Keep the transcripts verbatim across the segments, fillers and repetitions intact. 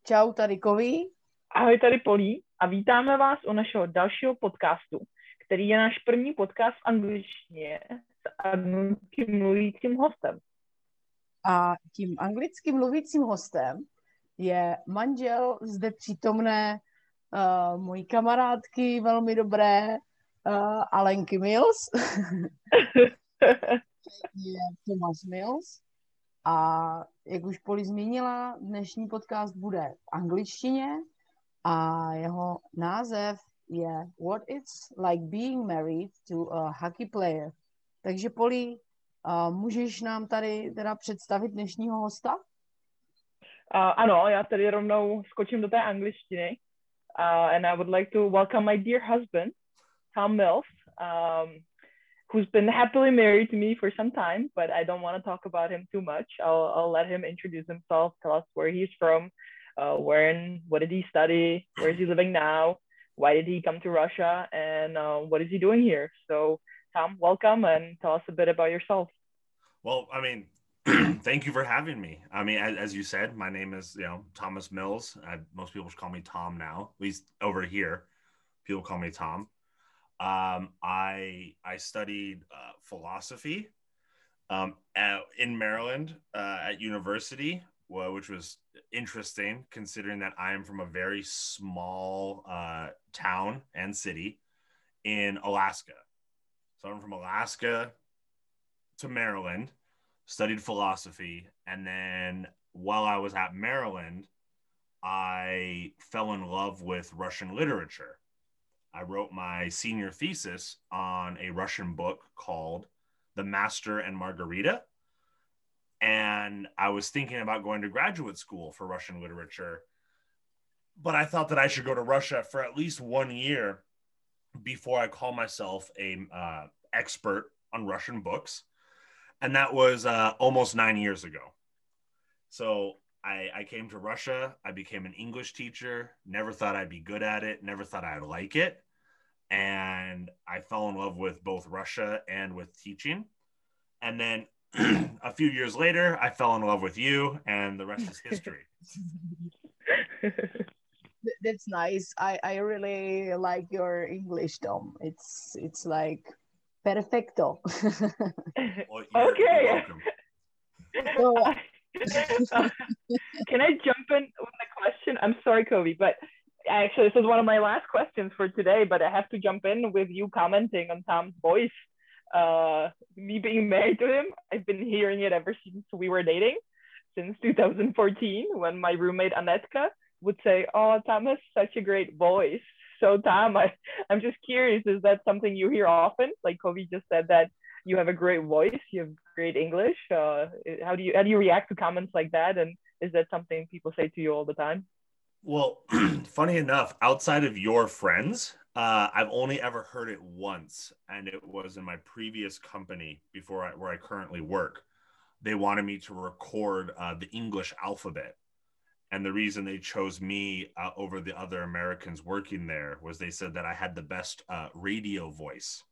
Čau, tady Kový. Ahoj, tady Polí a vítáme vás u našeho dalšího podcastu, který je náš první podcast v angličtině s anglickým mluvícím hostem. A tím anglicky mluvícím hostem je manžel zde přítomné uh, mojí kamarádky, velmi dobré uh, Alenky Mills. Je Thomas Mills. A jak už Poli zmínila, dnešní podcast bude v angličtině a jeho název je What It's Like Being Married to a Hockey Player. Takže Poli, uh, můžeš nám tady teda představit dnešního hosta? Uh, ano, já tady rovnou skočím do té angličtiny. Uh, and I would like to welcome my dear husband, Tom Mills, um, who's been happily married to me for some time, but I don't want to talk about him too much. I'll, I'll let him introduce himself, tell us where he's from, uh, where and what did he study, where is he living now, why did he come to Russia, and uh, what is he doing here. So, Tom, welcome and tell us a bit about yourself. Well, I mean, thank you for having me. I mean, as, as you said, my name is, you know, Thomas Mills. I, most people call me Tom now, at least over here. People call me Tom. Um, I I studied uh, philosophy um, at, in Maryland uh, at university, well, which was interesting considering that I am from a very small uh, town and city in Alaska. So I'm from Alaska to Maryland, studied philosophy, and then while I was at Maryland, I fell in love with Russian literature. I wrote my senior thesis on a Russian book called The Master and Margarita. And I was thinking about going to graduate school for Russian literature, but I thought that I should go to Russia for at least one year before I call myself a uh, expert on Russian books. And that was uh, almost nine years ago. So I, I came to Russia. I became an English teacher. Never thought I'd be good at it. Never thought I'd like it. And I fell in love with both Russia and with teaching. And then a few years later, I fell in love with you, and the rest is history. That's nice. I, I really like your English, Tom. It's it's like perfecto. Well, you're, Okay. you're welcome. So, Uh, can I jump in with a question? I'm sorry, Kobe, but actually this is one of my last questions for today, but I have to jump in with you commenting on Tom's voice. Uh, me being married to him, I've been hearing it ever since we were dating, since two thousand fourteen, when my roommate Anetka would say, oh, Tom has such a great voice. So Tom, I, I'm just curious, is that something you hear often? Like Kobe just said that you have a great voice, you have great English. Uh, how do you how do you react to comments like that? And is that something people say to you all the time? Well, funny enough, outside of your friends, uh, I've only ever heard it once, and it was in my previous company before I, where I currently work. They wanted me to record uh, the English alphabet. And the reason they chose me uh, over the other Americans working there was they said that I had the best uh, radio voice.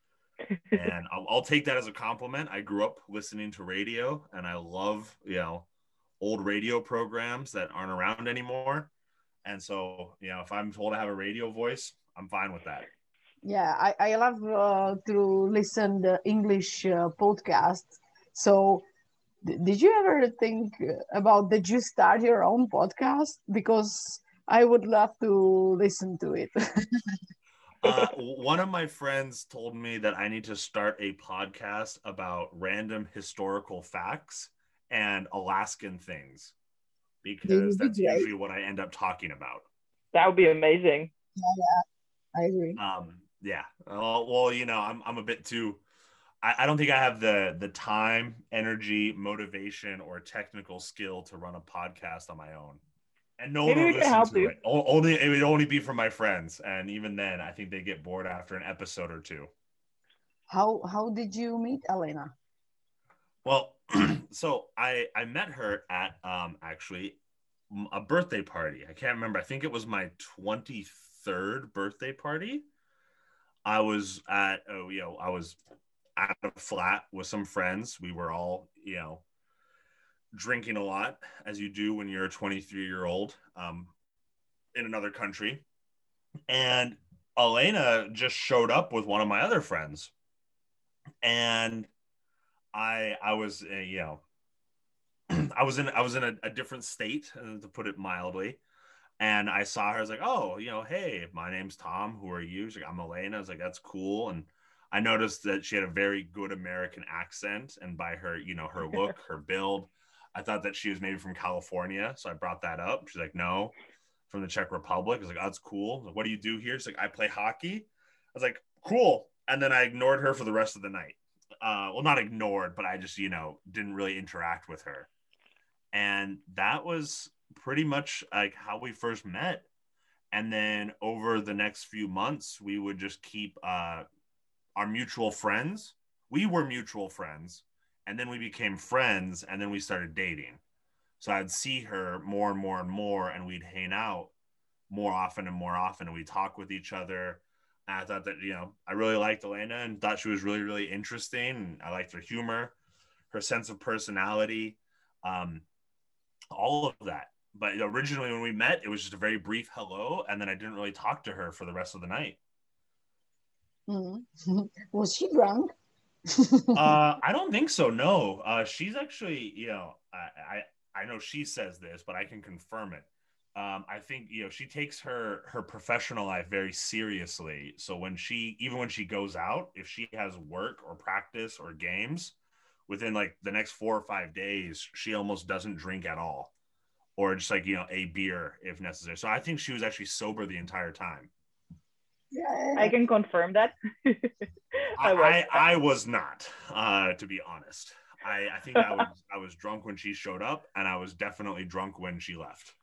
And I'll, I'll take that as a compliment. I grew up listening to radio, and I love, you know, old radio programs that aren't around anymore. And so, you know, if I'm told I have a radio voice, I'm fine with that. yeah, I, I love uh, to listen the English uh, podcasts. So d- did you ever think about did you start your own podcast? Because I would love to listen to it. Uh, one of my friends told me that I need to start a podcast about random historical facts and Alaskan things, because that's great. usually what I end up talking about. That would be amazing. Yeah, yeah, I agree. Um, yeah. Well, well, you know, I'm I'm a bit too. I, I don't think I have the the time, energy, motivation, or technical skill to run a podcast on my own. And no Maybe one we will can listen help to you. it. O- Only it would only be from my friends, and even then, I think they get bored after an episode or two. How how did you meet Elena? Well, so I I met her at um actually m- a birthday party. I can't remember. I think it was my twenty-third birthday party. I was at oh you know I was at a flat with some friends. We were all you know drinking a lot, as you do when you're a twenty-three year old um, in another country. And Elena just showed up with one of my other friends. And I, I was, uh, you know, I was in, I was in a, a different state, uh, to put it mildly. And I saw her. I was like, oh, you know, hey, my name's Tom. Who are you? She's like, I'm Elena. I was like, that's cool. And I noticed that she had a very good American accent. And by her, you know, her look, her build, I thought that she was maybe from California. So I brought that up. She's like, no, from the Czech Republic. I was like, oh, that's cool. Like, what do you do here? She's like, I play hockey. I was like, cool. And then I ignored her for the rest of the night. Uh, well, not ignored, but I just, you know, didn't really interact with her. And that was pretty much like how we first met. And then over the next few months, we would just keep uh, our mutual friends. We were mutual friends. And then we became friends. And then we started dating. So I'd see her more and more and more. And we'd hang out more often and more often. And we'd talk with each other. And I thought that, you know, I really liked Elena and thought she was really, really interesting. And I liked her humor, her sense of personality, um, all of that. But originally when we met, it was just a very brief hello. And then I didn't really talk to her for the rest of the night. Mm-hmm. Was she drunk? uh, I don't think so. No, uh, she's actually, you know, I, I, I know she says this, but I can confirm it. Um, I think, you know, she takes her, her professional life very seriously. So when she, even when she goes out, if she has work or practice or games within like the next four or five days, she almost doesn't drink at all. Or just like, you know, a beer if necessary. So I think she was actually sober the entire time. Yeah. I can confirm that. I, was. I, I was not, uh, to be honest. I, I think I was I was drunk when she showed up, and I was definitely drunk when she left.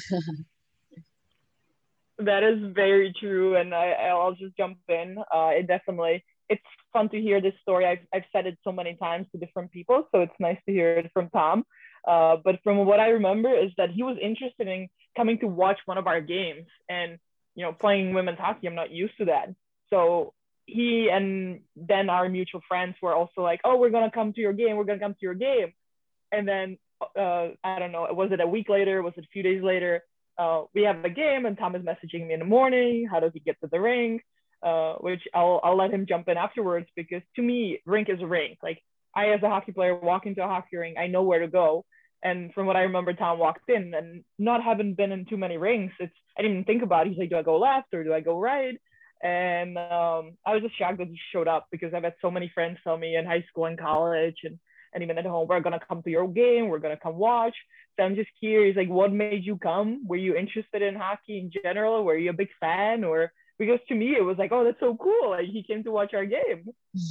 That is very true, and I, I'll just jump in. Uh, it definitely, it's fun to hear this story. I've, I've said it so many times to different people, so it's nice to hear it from Tom. Uh, but from what I remember is that he was interested in coming to watch one of our games, and you know, playing women's hockey, I'm not used to that. So he and then our mutual friends were also like, oh, we're gonna come to your game, we're gonna come to your game. And then uh, I don't know, was it a week later, was it a few days later? Uh, we have a game, and Tom is messaging me in the morning. How does he get to the rink? Uh, which I'll I'll let him jump in afterwards, because to me, rink is a rink. Like, I, as a hockey player, walk into a hockey rink, I know where to go. And from what I remember, Tom walked in, and not having been in too many rinks, it's I didn't even think about it. He's like, do I go left or do I go right? And um, I was just shocked that he showed up, because I've had so many friends tell me in high school and college and, and even at home, we're going to come to your game, we're going to come watch. So I'm just curious, like, what made you come? Were you interested in hockey in general? Were you a big fan? Or because to me, it was like, oh, that's so cool. Like, he came to watch our game.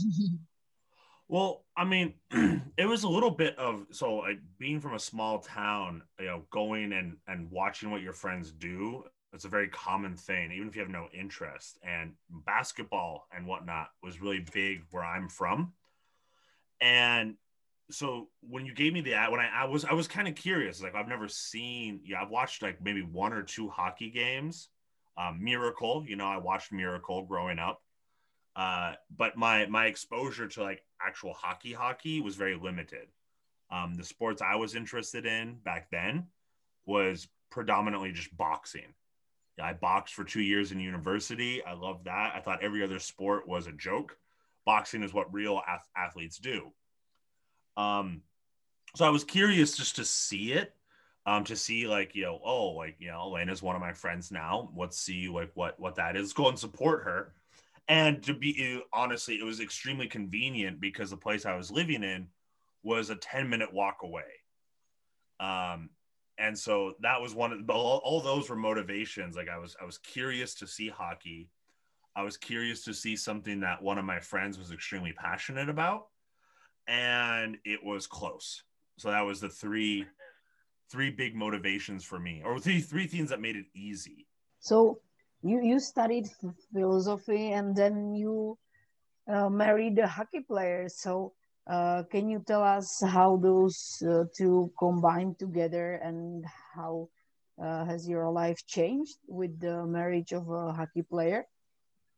Well, I mean, it was a little bit of, so like being from a small town, you know, going and, and watching what your friends do, it's a very common thing, even if you have no interest. And basketball and whatnot was really big where I'm from. And so when you gave me the ad, when I, I was, I was kind of curious, like I've never seen, yeah, I've watched like maybe one or two hockey games. Um, Miracle, you know, I watched Miracle growing up. Uh, but my my exposure to like actual hockey hockey was very limited. Um, the sports I was interested in back then was predominantly just boxing. Yeah, I boxed for two years in university. I loved that. I thought every other sport was a joke. Boxing is what real ath- athletes do. Um, so I was curious just to see it, um, to see like, you know, oh, like, you know, Elena's one of my friends now. Let's see like what what that is. Let's go and support her. And to be honestly, it was extremely convenient because the place I was living in was a ten minute walk away. Um, and so that was one of all, all those were motivations. Like I was, I was curious to see hockey. I was curious to see something that one of my friends was extremely passionate about, and it was close. So that was the three, three big motivations for me, or three, three things that made it easy. So you you studied philosophy, and then you uh, married a hockey player. So uh, can you tell us how those uh, two combined together, and how uh, has your life changed with the marriage of a hockey player?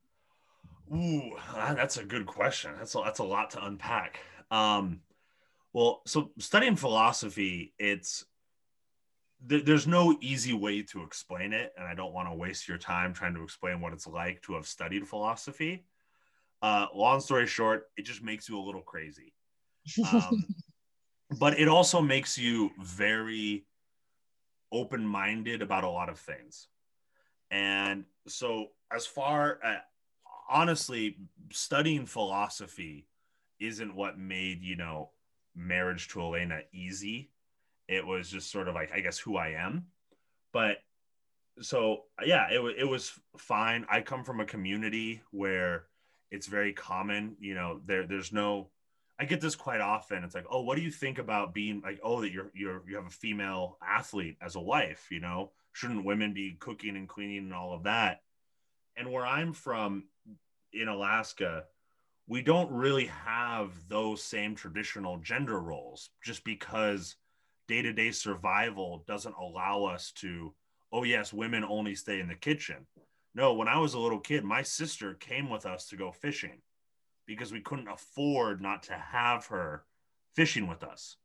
Ooh, that's a good question. That's a, that's a lot to unpack. Um, Well, so studying philosophy, it's th- there's no easy way to explain it, and I don't want to waste your time trying to explain what it's like to have studied philosophy. Uh, long story short, it just makes you a little crazy. Um, but it also makes you very open-minded about a lot of things. And so as far uh, honestly, studying philosophy isn't what made, you know, marriage to Elena easy. It was just sort of like, I guess, who I am. But so, yeah, it, it was fine. I come from a community where it's very common, you know, there, there's no, I get this quite often. It's like, oh, what do you think about being like, oh, that you're, you're, you have a female athlete as a wife, you know, shouldn't women be cooking and cleaning and all of that? And where I'm from in Alaska, we don't really have those same traditional gender roles just because day-to-day survival doesn't allow us to, oh yes, women only stay in the kitchen. No, when I was a little kid, my sister came with us to go fishing because we couldn't afford not to have her fishing with us.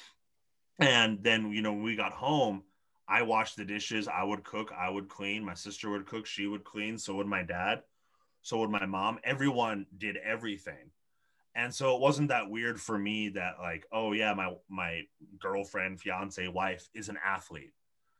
And then, you know, when we got home, I washed the dishes, I would cook, I would clean, my sister would cook, she would clean, so would my dad, so would my mom. Everyone did everything. And so it wasn't that weird for me that like, oh yeah, my my girlfriend, fiance, wife is an athlete.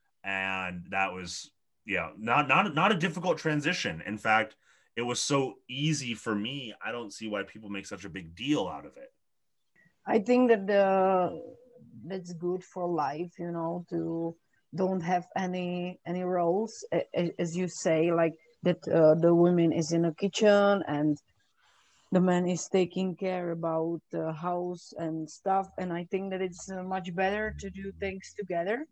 And that was, yeah, not not not a difficult transition. In fact, it was so easy for me. I don't see why people make such a big deal out of it. I think that the that's good for life, you know, to don't have any any roles, as you say, like that uh, the woman is in a kitchen and the man is taking care about the house and stuff. And I think that it's uh, much better to do things together.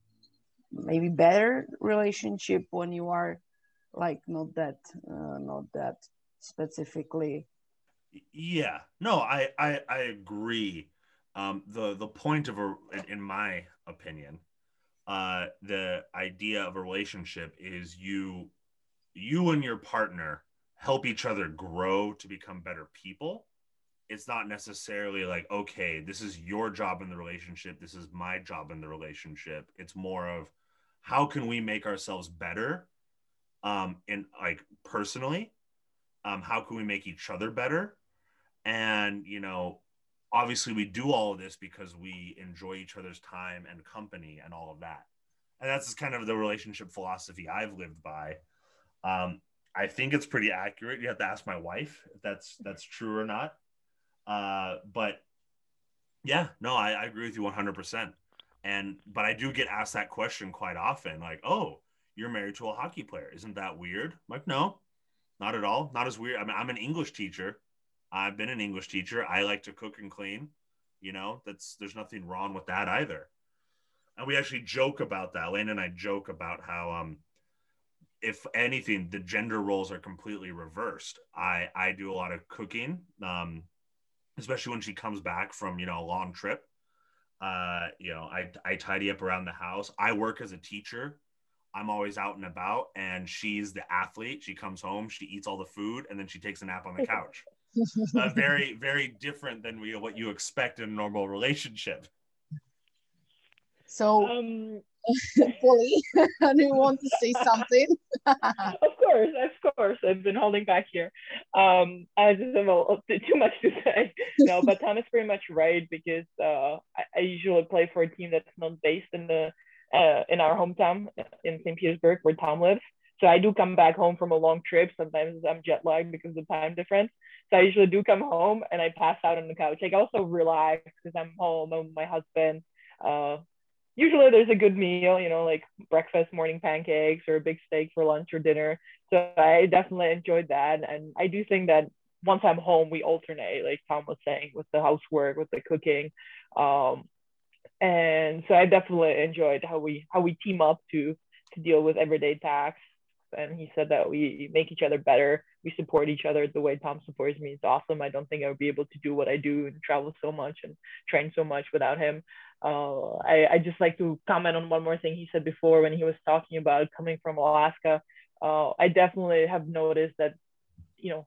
Maybe better relationship when you are like not that uh, not that specifically. Yeah, no, I I, I agree. Um, the the point of a, in my opinion, uh, the idea of a relationship is you you and your partner help each other grow to become better people. It's not necessarily like, okay, this is your job in the relationship, this is my job in the relationship. It's more of how can we make ourselves better, um, in like personally, um, how can we make each other better? And, you know, obviously we do all of this because we enjoy each other's time and company and all of that. And that's just kind of the relationship philosophy I've lived by. Um, I think it's pretty accurate. You have to ask my wife if that's that's true or not. Uh, but yeah, no, I, I agree with you one hundred percent. And but I do get asked that question quite often, like, "Oh, you're married to a hockey player. Isn't that weird?" I'm like, no, not at all. Not as weird. I mean, I'm an English teacher. I've been an English teacher. I like to cook and clean. You know, that's there's nothing wrong with that either. And we actually joke about that. Lane and I joke about how um if anything, the gender roles are completely reversed. I I do a lot of cooking, um, especially when she comes back from, you know, a long trip. Uh, you know, I I tidy up around the house. I work as a teacher. I'm always out and about, and she's the athlete. She comes home, she eats all the food, and then she takes a nap on the couch. Uh, very, very different than we, what you expect in a normal relationship. So, Um, Polly, do you want to say something? of course, of course. I've been holding back here. Um, I just have a, too much to say. No, but Tom is pretty much right because uh, I, I usually play for a team that's not based in the uh, in our hometown in Saint Petersburg, where Tom lives. So I do come back home from a long trip. Sometimes I'm jet lagged because of the time difference. So I usually do come home and I pass out on the couch. I also relax because I'm home. I'm with my husband. Uh, Usually there's a good meal, you know, like breakfast, morning pancakes, or a big steak for lunch or dinner. So I definitely enjoyed that. And I do think that once I'm home, we alternate, like Tom was saying, with the housework, with the cooking. Um, and so I definitely enjoyed how we how we team up to to deal with everyday tasks. And he said that we make each other better. We support each other the way Tom supports me. It's awesome. I don't think I would be able to do what I do and travel so much and train so much without him. Uh, I, I just like to comment on one more thing he said before when he was talking about coming from Alaska. Uh, I definitely have noticed that, you know,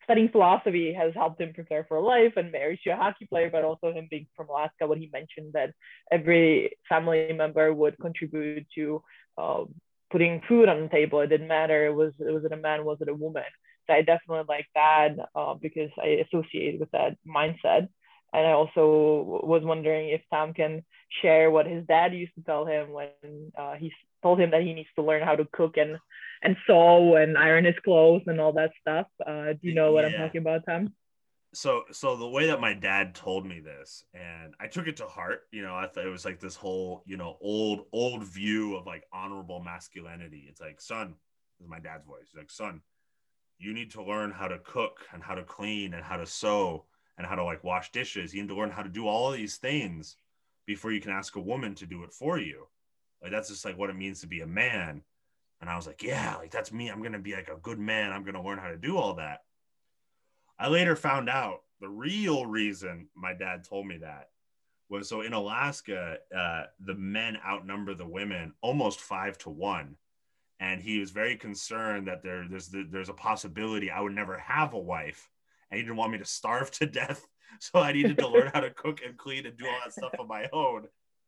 studying philosophy has helped him prepare for life and marriage to a hockey player, but also him being from Alaska, when he mentioned that every family member would contribute to uh, putting food on the table. It didn't matter. It was, was it a man, was it a woman? So I definitely like that uh, because I associate with that mindset. And I also was wondering if Tom can share what his dad used to tell him when uh, he told him that he needs to learn how to cook and and sew and iron his clothes and all that stuff. Uh, do you know what I'm Yeah. talking about, Tom? So, so the way that my dad told me this, and I took it to heart, you know, I thought it was like this whole, you know, old, old view of like honorable masculinity. It's like, son, this is my dad's voice. He's like, son, you need to learn how to cook and how to clean and how to sew and how to like wash dishes. You need to learn how to do all of these things before you can ask a woman to do it for you. Like, that's just like what it means to be a man. And I was like, yeah, like that's me. I'm going to be like a good man. I'm going to learn how to do all that. I later found out the real reason my dad told me that was so in Alaska, uh, the men outnumber the women almost five to one. And he was very concerned that there, there's, there's a possibility I would never have a wife. And he didn't want me to starve to death. So I needed to learn how to cook and clean and do all that stuff on my own.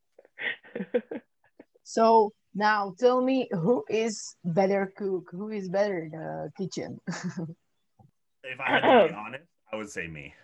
So now tell me, who is better cook? Who is better in the kitchen? If I had to be honest, I would say me.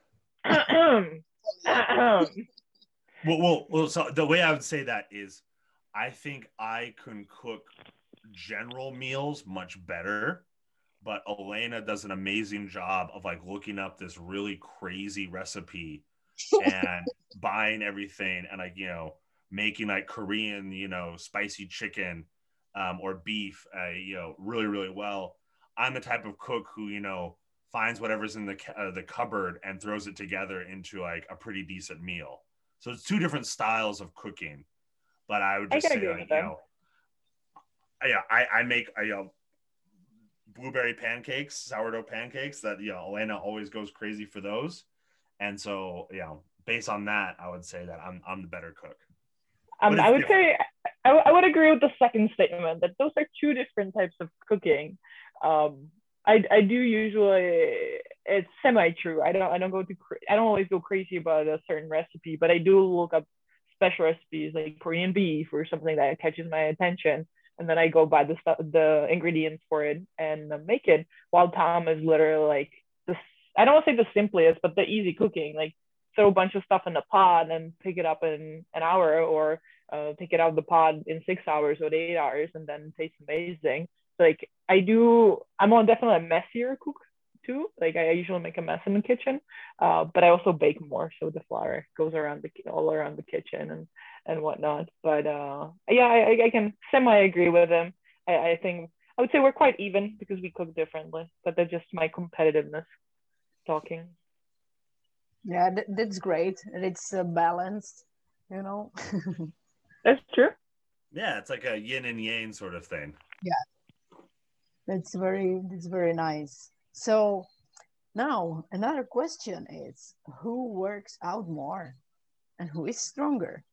well, well, well, so the way I would say that is I think I can cook general meals much better, but Elena does an amazing job of like looking up this really crazy recipe and buying everything and like, you know, making like Korean, you know, spicy chicken um, or beef, uh, you know, really, really well. I'm the type of cook who, you know, finds whatever's in the uh, the cupboard and throws it together into like a pretty decent meal. So it's two different styles of cooking, but I would just I say like, you know, yeah, I, I make, I, you know, blueberry pancakes, sourdough pancakes that, you know, Elena always goes crazy for those. And so, you know, based on that, I would say that I'm, I'm the better cook. Um, I would different. say, I, w- I would agree with the second statement that those are two different types of cooking. Um, I, I do usually, it's semi-true. I don't I don't go to I don't always go crazy about a certain recipe, but I do look up special recipes like Korean beef or something that catches my attention, and then I go buy the stuff, the ingredients for it and make it. While Tom is literally like the I don't want to say the simplest, but the easy cooking, like throw a bunch of stuff in the pot and pick it up in an hour, or uh, take it out of the pot in six hours or eight hours, and then tastes amazing. Like I do, I'm on definitely a messier cook too. Like I usually make a mess in the kitchen, uh, but I also bake more, so the flour goes around the all around the kitchen and and whatnot. But uh, yeah, I, I can semi agree with him. I, I think I would say we're quite even because we cook differently, but that's just my competitiveness talking. Yeah, th- that's great. It's uh, balanced, you know. That's true. Yeah, it's like a yin and yang sort of thing. Yeah. That's very, that's very nice. So now another question is, who works out more and who is stronger?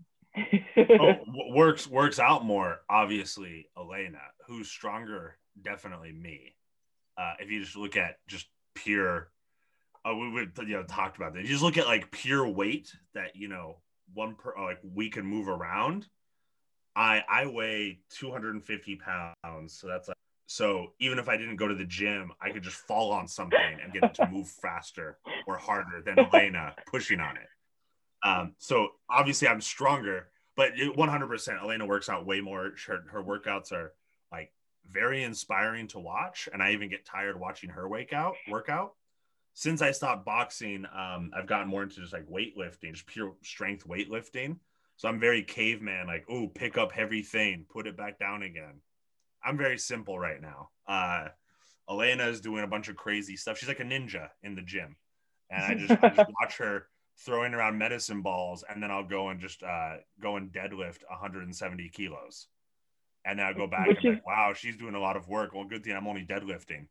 oh, works works out more, obviously, Elena. Who's stronger? Definitely me. Uh, if you just look at just pure, uh, we would you know talked about that. You just look at like pure weight that you know one per like we can move around. I I weigh two hundred fifty pounds, so that's like. So even if I didn't go to the gym, I could just fall on something and get it to move faster or harder than Elena pushing on it. Um, so obviously I'm stronger, but one hundred percent Elena works out way more. Her, her workouts are like very inspiring to watch. And I even get tired watching her wake out, workout. Since I stopped boxing, um, I've gotten more into just like weightlifting, just pure strength weightlifting. So I'm very caveman, like, oh, pick up heavy thing, put it back down again. I'm very simple right now. Uh, Elena is doing a bunch of crazy stuff. She's like a ninja in the gym. And I just, I just watch her throwing around medicine balls, and then I'll go and just uh, go and deadlift one hundred seventy kilos. And then I'll go back Which and be like, wow, she's doing a lot of work. Well, good thing I'm only deadlifting.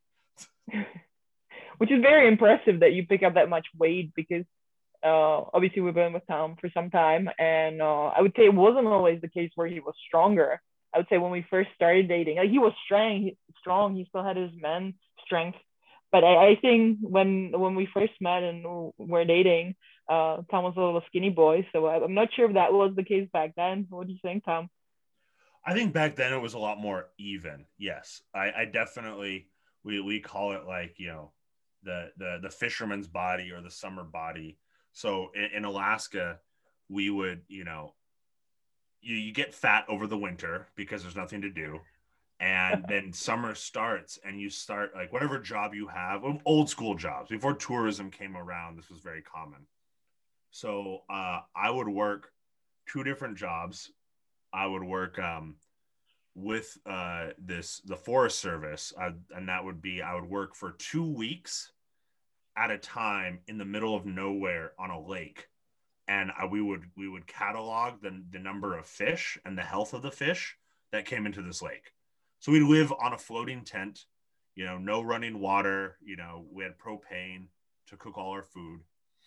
Which is very impressive that you pick up that much weight, because uh, obviously we've been with Tom for some time. And uh, I would say it wasn't always the case where he was stronger. I would say when we first started dating, like he was strong, he, strong. He still had his men's strength, but I, I think when when we first met and were dating, uh, Tom was a little skinny boy. So I, I'm not sure if that was the case back then. What do you think, Tom? I think back then it was a lot more even. Yes, I, I definitely we we call it like you know the the the fisherman's body or the summer body. So in, in Alaska, we would you know you, you get fat over the winter because there's nothing to do, and then summer starts and you start like whatever job you have, old school jobs before tourism came around. This was very common. So uh, I would work two different jobs. I would work um, with uh, this the Forest Service, uh, and that would be I would work for two weeks at a time in the middle of nowhere on a lake, and I, we would we would catalog the the number of fish and the health of the fish that came into this lake. So we'd live on a floating tent, you know, no running water. You know, we had propane to cook all our food,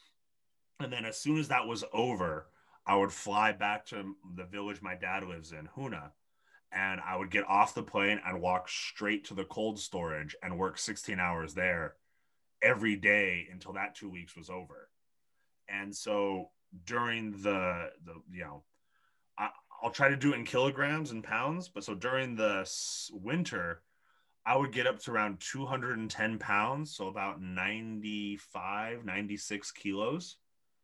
and then as soon as that was over, I would fly back to the village my dad lives in, Huna, and I would get off the plane and walk straight to the cold storage and work sixteen hours there every day until that two weeks was over. And so during the, the you know, I, I'll try to do it in kilograms and pounds, but so during the winter, I would get up to around two hundred ten pounds, so about ninety-five, ninety-six kilos.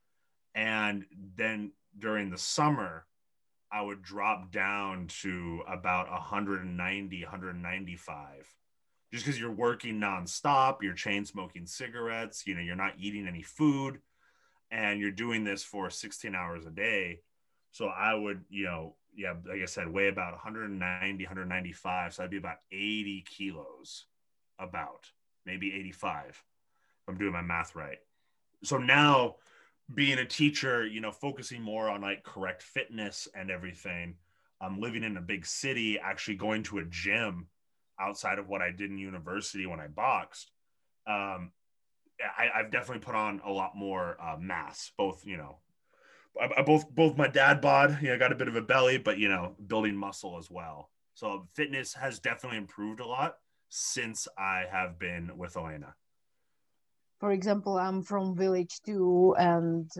And then during the summer, I would drop down to about one ninety, one ninety-five. Just because you're working nonstop, you're chain smoking cigarettes, you know, you're not eating any food, and you're doing this for sixteen hours a day. So I would, you know, yeah, like I said, weigh about one ninety, one ninety-five. So I'd be about eighty kilos, about maybe eighty-five, if I'm doing my math right. So now, being a teacher, you know, focusing more on like correct fitness and everything, um, living in a big city, actually going to a gym outside of what I did in university when I boxed, um, I, I've definitely put on a lot more uh, mass, both, you know, I, I both, both my dad bod, you know, got a bit of a belly, but, you know, building muscle as well. So fitness has definitely improved a lot since I have been with Elena. For example, I'm from village too, and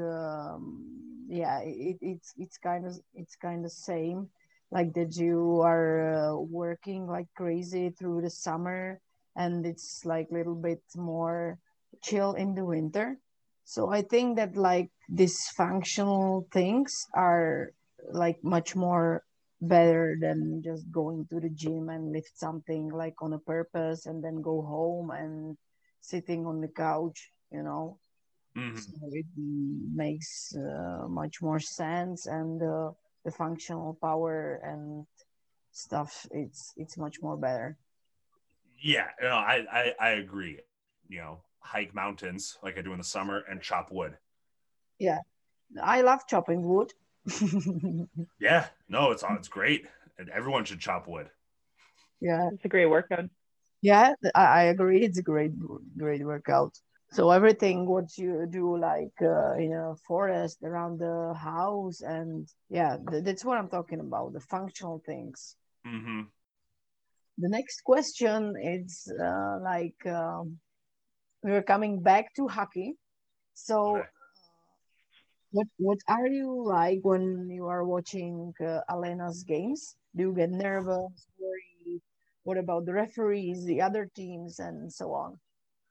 um, yeah, it, it's it's kind of it's kind of same, like that you are uh, working like crazy through the summer, and it's like a little bit more chill in the winter. So I think that like these functional things are like much more better than just going to the gym and lift something like on a purpose and then go home and sitting on the couch, you know. Mm-hmm. So it makes uh, much more sense, and uh, the functional power and stuff, it's it's much more better. Yeah, no, I, I I agree. You know, hike mountains like I do in the summer and chop wood. Yeah, I love chopping wood. Yeah, no, it's it's great, and everyone should chop wood. Yeah, It's a great workout. yeah, I, I agree. It's a great great workout. So everything what you do like uh, in a forest around the house, and yeah, th- that's what I'm talking about, the functional things. Mm-hmm. The next question is uh, like um, we're coming back to hockey. So Okay. what what are you like when you are watching uh, Alena's games? Do you get nervous, worried? What about the referees, the other teams, and so on?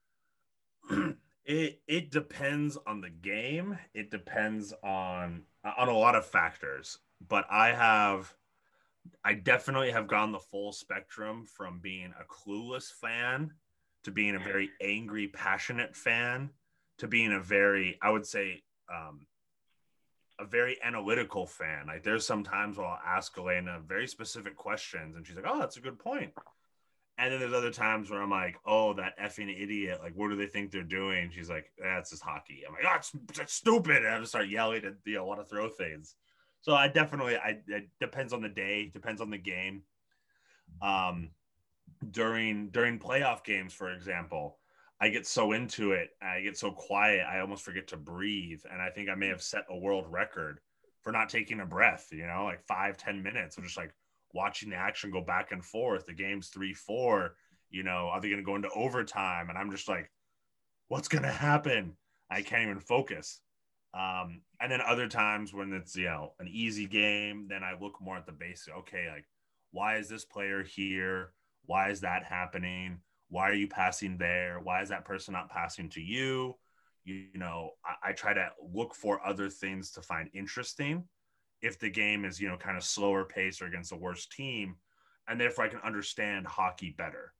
It it depends on the game. It depends on on a lot of factors. But I have I definitely have gone the full spectrum from being a clueless fan to being a very angry, passionate fan to being a very, I would say, um, a very analytical fan. Like there's some times where I'll ask Elena very specific questions and she's like, oh, that's a good point. And then there's other times where I'm like, oh, that effing idiot. Like, what do they think they're doing? She's like, that's just hockey. I'm like, oh, it's, it's stupid. And I just start yelling and you know, want to throw things. So I definitely, I it depends on the day, depends on the game. Um, during during playoff games, for example, I get so into it, I get so quiet, I almost forget to breathe. And I think I may have set a world record for not taking a breath, you know, like five, ten minutes of just like watching the action go back and forth. The game's three, four, You know, are they going to go into overtime? And I'm just like, what's going to happen? I can't even focus. Um, and then other times when it's, you know, an easy game, then I look more at the basic. Okay, like, why is this player here? Why is that happening? Why are you passing there? Why is that person not passing to you? You, you know, I, I try to look for other things to find interesting if the game is, you know, kind of slower pace or against a worse team. And therefore I can understand hockey better.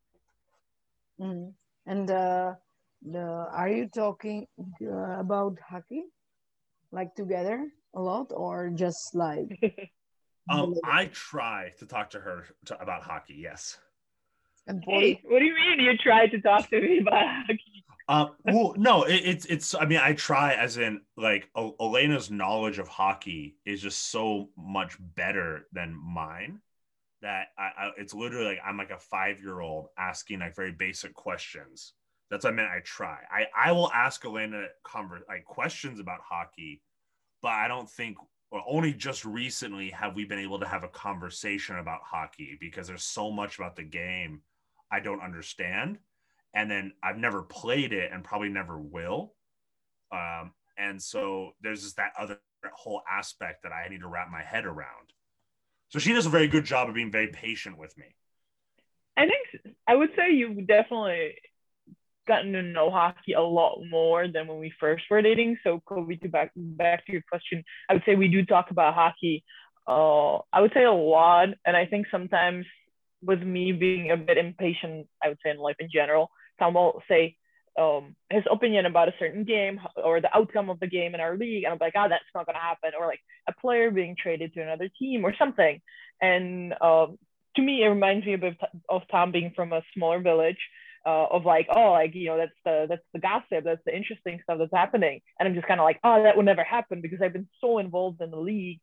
Mm. And uh, the, are you talking uh, about hockey? Like together a lot, or just like um I try to talk to her to, about hockey, yes. And Polly? Hey, what do you mean you tried to talk to me about hockey? Um well no it, it's it's I mean I try as in like o- Elena's knowledge of hockey is just so much better than mine that I, I it's literally like I'm like a five-year-old asking like very basic questions. That's what I meant. I try. I, I will ask Elena conver- like questions about hockey, but I don't think, well, only just recently have we been able to have a conversation about hockey because there's so much about the game I don't understand. And then I've never played it and probably never will. Um, and so there's just that other whole aspect that I need to wrap my head around. So she does a very good job of being very patient with me. I think I would say you've definitely gotten to know hockey a lot more than when we first were dating. So Kobe, to back back to your question, I would say we do talk about hockey. Uh, I would say a lot, and I think sometimes with me being a bit impatient, I would say in life in general, Tom will say um, his opinion about a certain game or the outcome of the game in our league, and I'm like, oh, that's not gonna happen, or like a player being traded to another team or something. And um, to me, it reminds me a bit of Tom being from a smaller village. Uh, of like, oh, like, you know, that's the that's the gossip, that's the interesting stuff that's happening, and I'm just kind of like, oh, that would never happen because I've been so involved in the league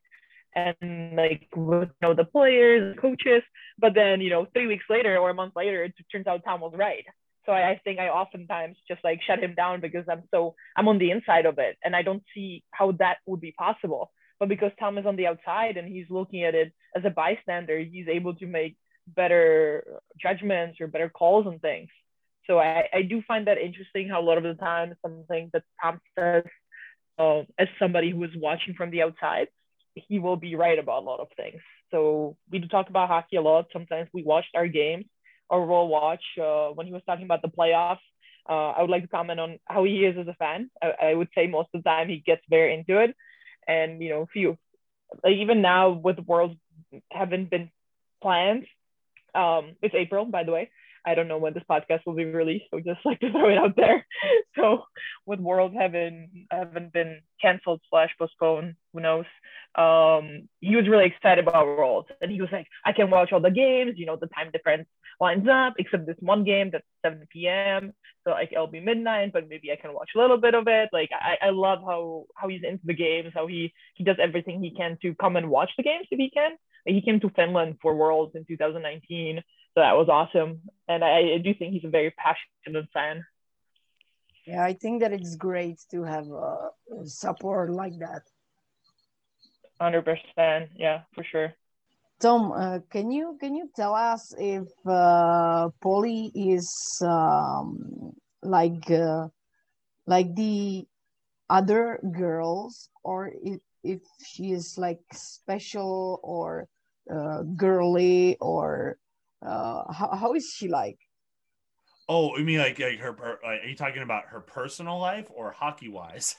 and like with, you know, the players, the coaches. But then, you know, three weeks later or a month later, it turns out Tom was right. So I, I think I oftentimes just like shut him down because I'm so I'm on the inside of it and I don't see how that would be possible. But because Tom is on the outside and he's looking at it as a bystander, he's able to make better judgments or better calls on things. So I, I do find that interesting how a lot of the time something that Tom says uh, as somebody who is watching from the outside, he will be right about a lot of things. So we do talk about hockey a lot. Sometimes we watched our games or we'll watch uh, when he was talking about the playoffs. Uh, I would like to comment on how he is as a fan. I, I would say most of the time he gets very into it. And, you know, few, like even now with Worlds haven't been planned. Um, it's April, by the way. I don't know when this podcast will be released, so just like to throw it out there. So with World having haven't been canceled slash postponed, who knows? Um, he was really excited about World, and he was like, "I can watch all the games. You know, the time difference lines up, except this one game that's seven p.m. So like it'll be midnight, but maybe I can watch a little bit of it. Like I, I love how how he's into the games, how he he does everything he can to come and watch the games if he can. He came to Finland for Worlds in two thousand nineteen. So that was awesome. And I, I do think he's a very passionate fan. Yeah, I think that it's great to have uh, support like that. one hundred percent. Yeah, for sure. Tom, uh, can you can you tell us if uh, Polly is um, like uh, like the other girls, or if, if she is like special or uh, girly, or uh, how, how is she like? Oh, you mean like, like her, her like, are you talking about her personal life or hockey wise?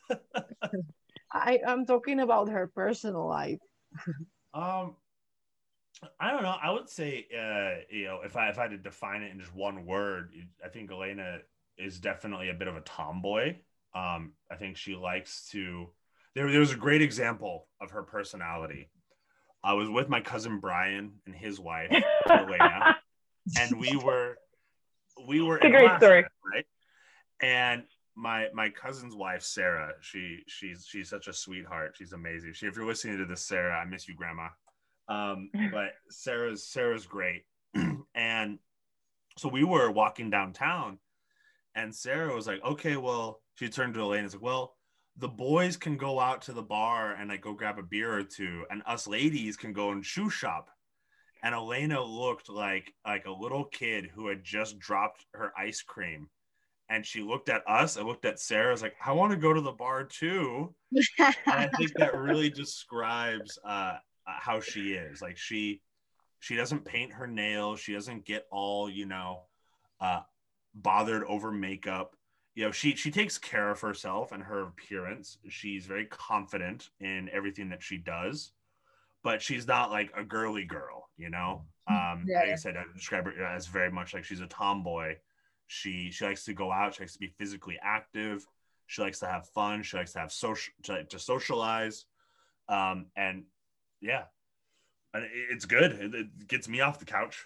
I, I'm talking about her personal life. um, I don't know. I would say, uh, you know, if I if I had to define it in just one word, I think Elena is definitely a bit of a tomboy. Um, I think she likes to. There, there was a great example of her personality. I was with my cousin Brian and his wife Elena, and we were we were it's in a great Alaska, story, right? And my my cousin's wife Sarah, she she's she's such a sweetheart. She's amazing. She, if you're listening to this, Sarah, I miss you, Grandma. Um, but Sarah's Sarah's great. And so we were walking downtown, and Sarah was like, "Okay, well," she turned to Elaine and was like, "Well, the boys can go out to the bar and like go grab a beer or two, and us ladies can go and shoe shop." and Elena looked like like a little kid who had just dropped her ice cream, and she looked at us and looked at Sarah. I was like, I want to go to the bar too. And I think that really describes uh, how she is. Like she she doesn't paint her nails. She doesn't get all, you know, uh, bothered over makeup. You know, she she takes care of herself and her appearance. She's very confident in everything that she does, but she's not like a girly girl, you know. Um, Yeah. like I said, I describe her as very much like she's a tomboy. She she likes to go out. She likes to be physically active. She likes to have fun. She likes to have social to, to socialize. Um, and yeah, and it, it's good. It, it gets me off the couch.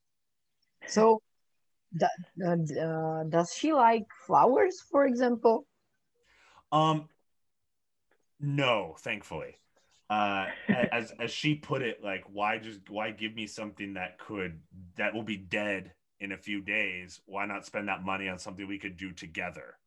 So, that, uh, uh, does she like flowers, for example? Um, no, thankfully. Uh, as as she put it, like why just why give me something that could that will be dead in a few days? Why not spend that money on something we could do together?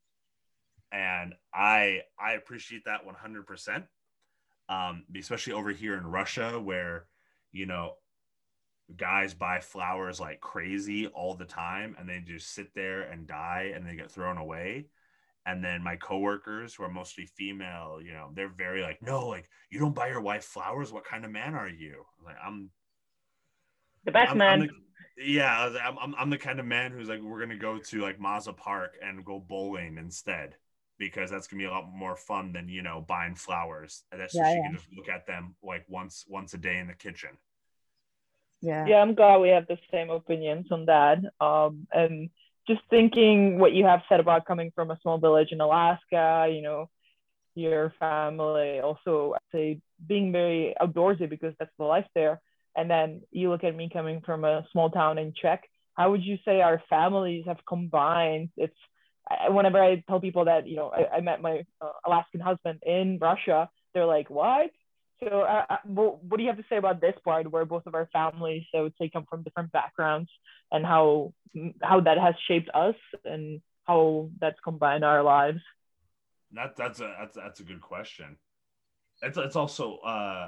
And I I appreciate that one hundred percent. Um, especially over here in Russia, where you know guys buy flowers like crazy all the time, and they just sit there and die, and they get thrown away. And then my coworkers, who are mostly female, you know, they're very like, no, like you don't buy your wife flowers. What kind of man are you? Like I'm, The best I'm, I'm man. the, yeah, I'm, I'm, I'm the kind of man who's like, we're gonna go to like Mazza Park and go bowling instead, because that's gonna be a lot more fun than you know buying flowers. And that's so Yeah, she yeah, can just look at them like once once a day in the kitchen. yeah. Yeah, I'm glad we have the same opinions on that. Um, and just thinking what you have said about coming from a small village in Alaska, you know, your family also, I'd say, being very outdoorsy because that's the life there. And then you look at me coming from a small town in Czech. How would you say our families have combined? It's I, whenever I tell people that, you know, I, I met my uh, Alaskan husband in Russia, they're like, what? So, uh, uh, what, what do you have to say about this part where both of our families, so I would say, come from different backgrounds, and how how that has shaped us and how that's combined our lives? That that's a that's that's a good question. It's it's also uh,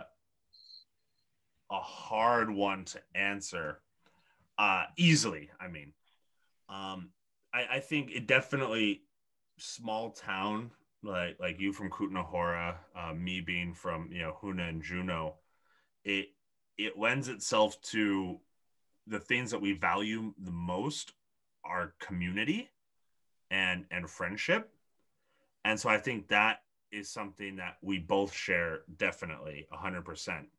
a hard one to answer uh, easily. I mean, um, I, I think it definitely small town like like you from Kutna uh, me being from you know Huna and Juneau. It it lends itself to the things that we value the most are community and and friendship, and so I think that is something that we both share definitely one hundred percent.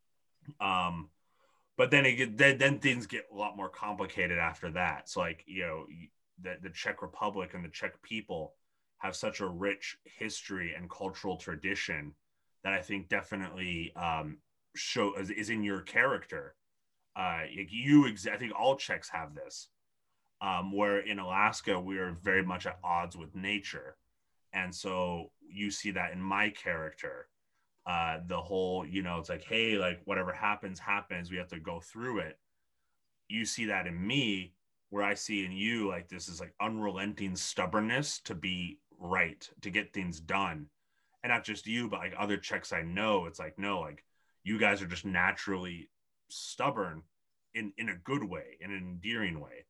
Um, but then it get, then, then things get a lot more complicated after that. So like you know the the Czech Republic and the Czech people have such a rich history and cultural tradition that I think definitely um, show is, is in your character. Uh, you, ex- I think all Czechs have this, um, where in Alaska we are very much at odds with nature, and so you see that in my character. Uh, the whole, you know, it's like, hey, like whatever happens, happens. We have to go through it. You see that in me, where I see in you, like this is like unrelenting stubbornness to be right, to get things done. And not just you, but like other Czechs I know, it's like, no, like you guys are just naturally stubborn in, in a good way, in an endearing way.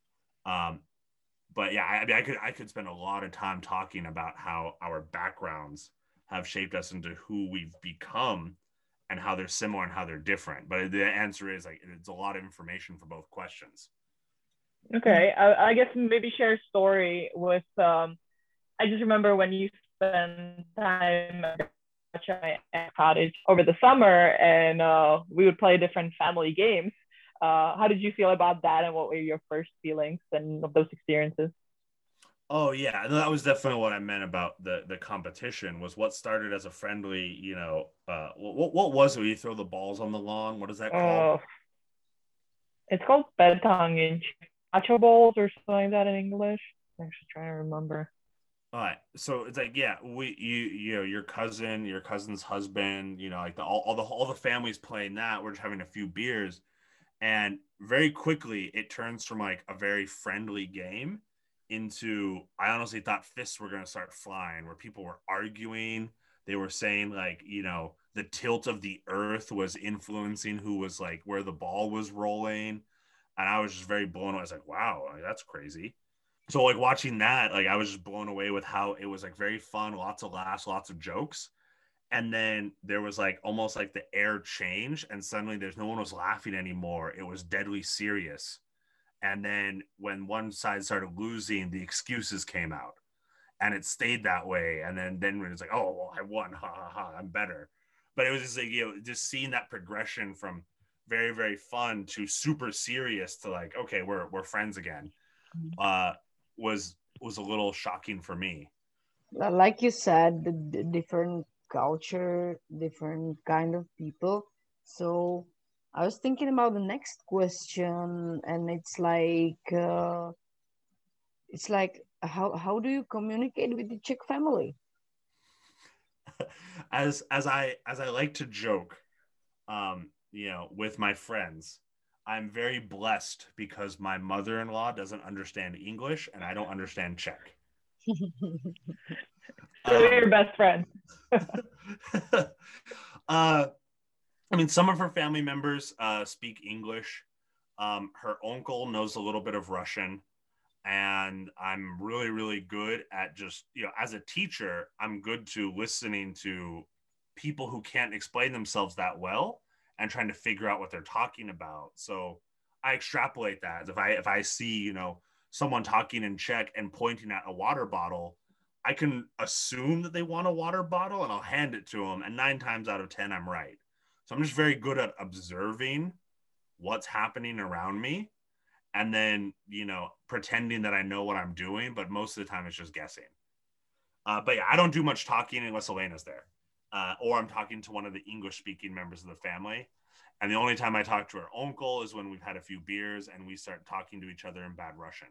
Um, but yeah, I, I mean, I could I could spend a lot of time talking about how our backgrounds have shaped us into who we've become and how they're similar and how they're different. But the answer is like it's a lot of information for both questions. Okay, I, I guess maybe share a story with. Um, I just remember when you spent time at my cottage over the summer, and uh, we would play different family games. Uh, how did you feel about that, and what were your first feelings and of those experiences? Oh yeah, that was definitely what I meant about the the competition. Was what started as a friendly, you know, uh, what what was it? Where you throw the balls on the lawn? What is that called? Uh, it's called bedtang in Nacho bowls or something like that in English. I'm actually trying to remember. All right, so it's like yeah, we you you know your cousin, your cousin's husband, you know, like the all, all the all the families playing that. We're just having a few beers, and very quickly it turns from like a very friendly game into I honestly thought fists were going to start flying, where people were arguing. They were saying like you know the tilt of the earth was influencing who was like where the ball was rolling. And I was just very blown away. I was like, wow, like, that's crazy. So like watching that, like I was just blown away with how it was like very fun, lots of laughs, lots of jokes. And then there was like almost like the air changed and suddenly there's no one was laughing anymore. It was deadly serious. And then when one side started losing, the excuses came out and it stayed that way. And then, then when it's like, oh, well, I won, ha ha ha, I'm better. But it was just like, you know, just seeing that progression from very, very fun to super serious to like, okay, we're, we're friends again, uh, was, was a little shocking for me. Like you said, the, the different culture, different kind of people. So I was thinking about the next question, and it's like, uh, it's like, how how do you communicate with the Czech family? as as I as I like to joke, um, you know, with my friends, I'm very blessed because my mother-in-law doesn't understand English and I don't understand Czech. So um, you're your best friend. uh, I mean, some of her family members uh, speak English. Um, her uncle knows a little bit of Russian. And I'm really, really good at just, you know, as a teacher, I'm good to listening to people who can't explain themselves that well and trying to figure out what they're talking about. So I extrapolate that. If I if I see, you know, someone talking in Czech and pointing at a water bottle, I can assume that they want a water bottle and I'll hand it to them. And nine times out of ten, I'm right. So I'm just very good at observing what's happening around me. And then, you know, pretending that I know what I'm doing, but most of the time it's just guessing. Uh, but yeah, I don't do much talking unless Elena's there. Uh, or I'm talking to one of the English-speaking members of the family. And the only time I talk to her uncle is when we've had a few beers and we start talking to each other in bad Russian.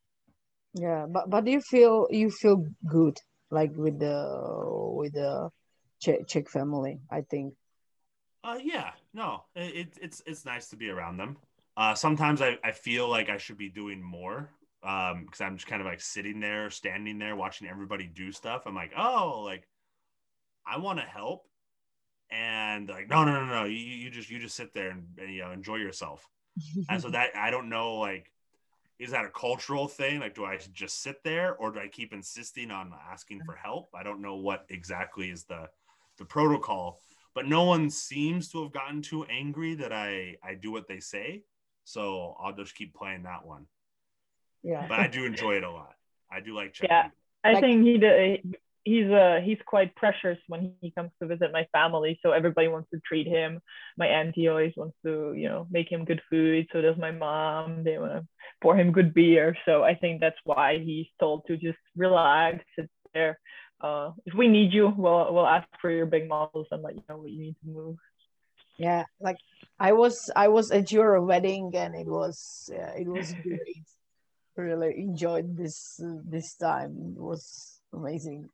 Yeah, but but you feel you feel good like with the with the Czech, Czech family, I think. Uh, yeah, no, it, it's it's nice to be around them. Uh, sometimes I, I feel like I should be doing more um, because I'm just kind of like sitting there, standing there, watching everybody do stuff. I'm like, oh, like I want to help, and like, no, no, no, no, you, you just you just sit there and, and you know enjoy yourself. And so that I don't know, like, is that a cultural thing? Like, do I just sit there, or do I keep insisting on asking for help? I don't know what exactly is the the protocol, but no one seems to have gotten too angry that I I do what they say. So I'll just keep playing that one. Yeah. But I do enjoy it a lot. I do like Czech Yeah, people. I Like- think he did. He's uh he's quite precious when he comes to visit my family. So everybody wants to treat him. My auntie always wants to, you know, make him good food. So does my mom. They want to pour him good beer. So I think that's why he's told to just relax, sit there. Uh, if we need you, we'll we'll ask for your big muscles and let you know what you need to move. Yeah, like I was I was at your wedding and it was uh, it was great. Really enjoyed this uh, this time. It was amazing.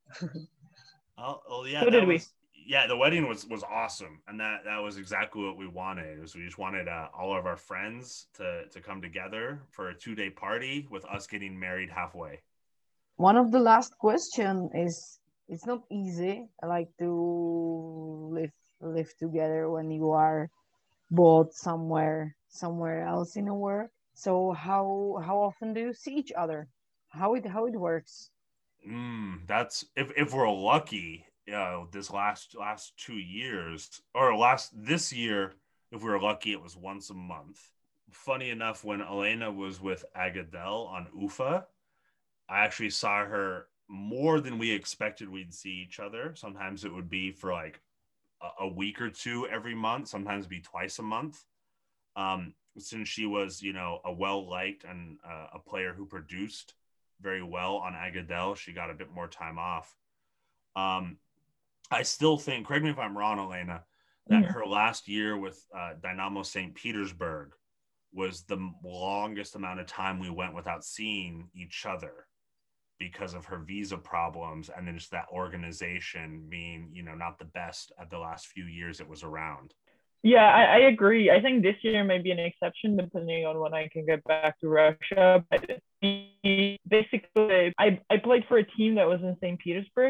Oh, oh yeah, So that did we. was yeah. The wedding was was awesome, and that that was exactly what we wanted. Was we just wanted uh, all of our friends to to come together for a two day party with us getting married halfway. One of the last question is it's not easy like to live live together when you are both somewhere somewhere else in the world. So how how often do you see each other? How it how it works? Mm, that's if if we're lucky. You know, this last last two years or last this year, if we were lucky, it was once a month. Funny enough, when Elena was with Agadel on U F A, I actually saw her more than we expected we'd see each other. Sometimes it would be for like a, a week or two every month. Sometimes it'd be twice a month. Um, since she was, you know, a well-liked and uh, a player who produced very well on Agadel, she got a bit more time off. Um, I still think, correct me if I'm wrong, Elena, that Mhm. her last year with uh, Dynamo Saint Petersburg was the longest amount of time we went without seeing each other because of her visa problems and then just that organization being, you know, not the best at the last few years it was around. Yeah, I, I agree. I think this year may be an exception depending on when I can get back to Russia. But basically, I, I played for a team that was in Saint Petersburg.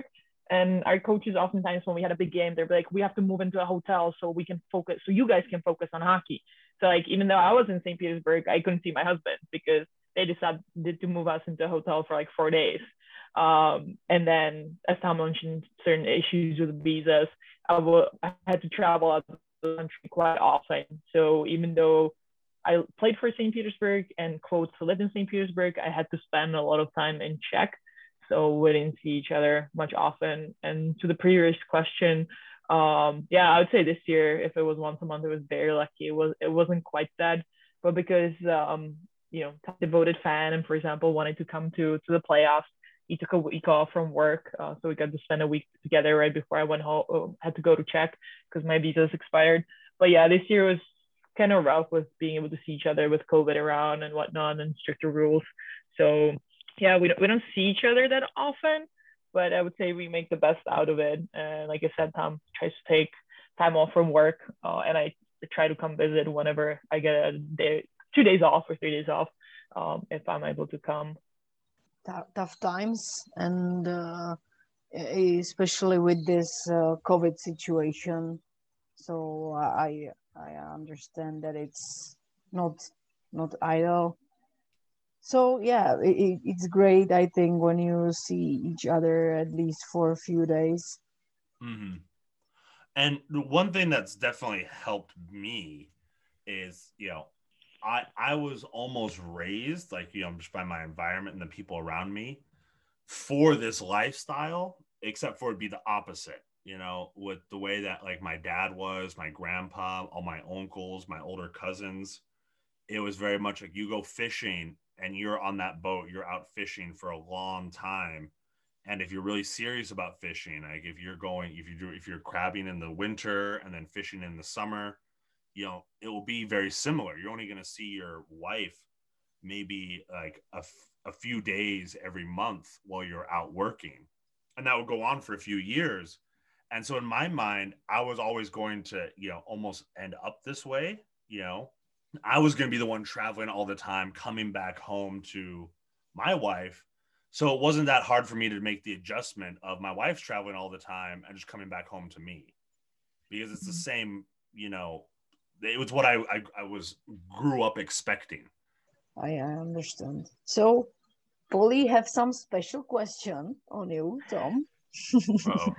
And our coaches oftentimes when we had a big game, they'd be like, we have to move into a hotel so we can focus, so you guys can focus on hockey. So like, even though I was in Saint Petersburg, I couldn't see my husband because they decided to move us into a hotel for like four days. Um, and then as Tom mentioned, certain issues with visas, I, w- I had to travel out of the country quite often. So even though I played for Saint Petersburg and quotes lived in Saint Petersburg, I had to spend a lot of time in Czech. So we didn't see each other much often. And to the previous question, um, yeah, I would say this year, if it was once a month, it was very lucky. It was it wasn't quite that, but because um, you know, devoted fan and for example wanted to come to to the playoffs, he took a week off from work, uh, so we got to spend a week together right before I went home. Uh, had to go to Czech because my visa's expired. But yeah, this year was kind of rough with being able to see each other with COVID around and whatnot and stricter rules. So yeah, we don't, we don't see each other that often, but I would say we make the best out of it. And like I said, Tom tries to take time off from work, uh, and I try to come visit whenever I get a day, two days off or three days off, um, if I'm able to come. Tough times, and uh, especially with this uh, COVID situation. So I I understand that it's not not idle. So yeah, it, it's great. I think when you see each other at least for a few days. Mm-hmm. And one thing that's definitely helped me is, you know, I I was almost raised, like, you know, just by my environment and the people around me for this lifestyle, except for it'd be the opposite, you know, with the way that like my dad was, my grandpa, all my uncles, my older cousins. It was very much like you go fishing and you're on that boat, you're out fishing for a long time. And if you're really serious about fishing, like if you're going, if you do, if you're crabbing in the winter and then fishing in the summer, you know, it will be very similar. You're only going to see your wife maybe like a, a few days every month while you're out working. And that would go on for a few years. And so in my mind, I was always going to, you know, almost end up this way. You know, I was going to be the one traveling all the time, coming back home to my wife. So it wasn't that hard for me to make the adjustment of my wife's traveling all the time and just coming back home to me, because it's the same, you know, it was what I, I, I was grew up expecting. I, I understand. So Polly have some special question on you, Tom. uh,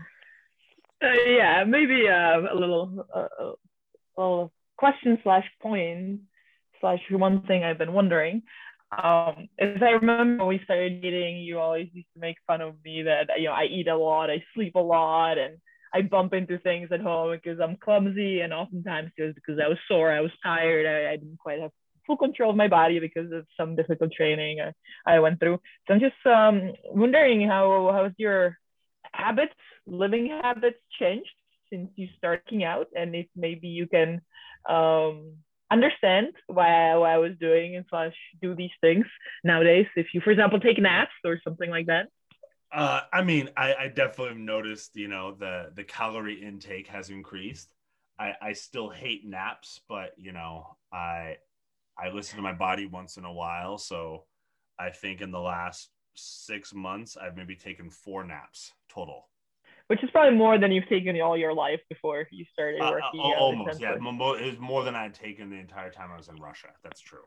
yeah, maybe uh, a little, uh, a little question slash point slash one thing I've been wondering. Um, as I remember when we started dating, you always used to make fun of me that, you know, I eat a lot, I sleep a lot, and I bump into things at home because I'm clumsy, and oftentimes it was because I was sore, I was tired, I, I didn't quite have full control of my body because of some difficult training I, I went through. So I'm just um, wondering how how's your habits, living habits changed since you started working out, and if maybe you can um, understand why, why I was doing and slash do these things nowadays. If you, for example, take naps or something like that. Uh, I mean, I, I definitely noticed, you know, the, the calorie intake has increased. I, I still hate naps, but, you know, I, I listen to my body once in a while. So I think in the last six months, I've maybe taken four naps total. Which is probably more than you've taken all your life before you started working. Uh, uh, almost, yeah. It was more than I'd taken the entire time I was in Russia. That's true.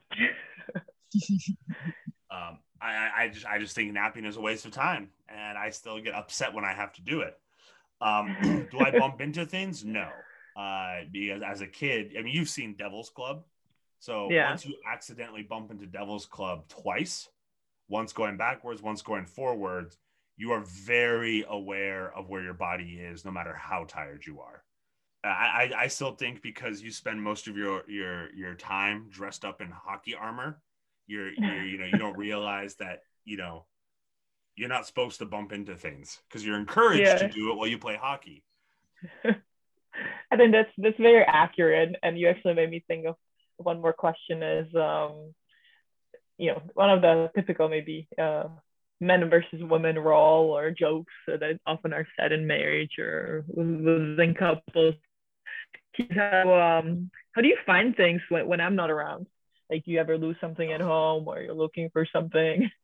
um, I, I just, I just think napping is a waste of time, and I still get upset when I have to do it. Um, do I bump into things? No, uh, because as a kid, I mean, you've seen Devil's Club, so yeah. Once you accidentally bump into Devil's Club twice, once going backwards, once going forwards, you are very aware of where your body is, no matter how tired you are. I, I, I still think because you spend most of your, your, your time dressed up in hockey armor, you're, you're, you know, you don't realize that, you know, you're not supposed to bump into things because you're encouraged yeah. to do it while you play hockey. I think that's, that's very accurate. And you actually made me think of one more question is, um, you know, one of the typical maybe, uh, men versus women role or jokes that often are said in marriage or within couples. How, um, how do you find things when, when I'm not around? Like, do you ever lose something at home or you're looking for something?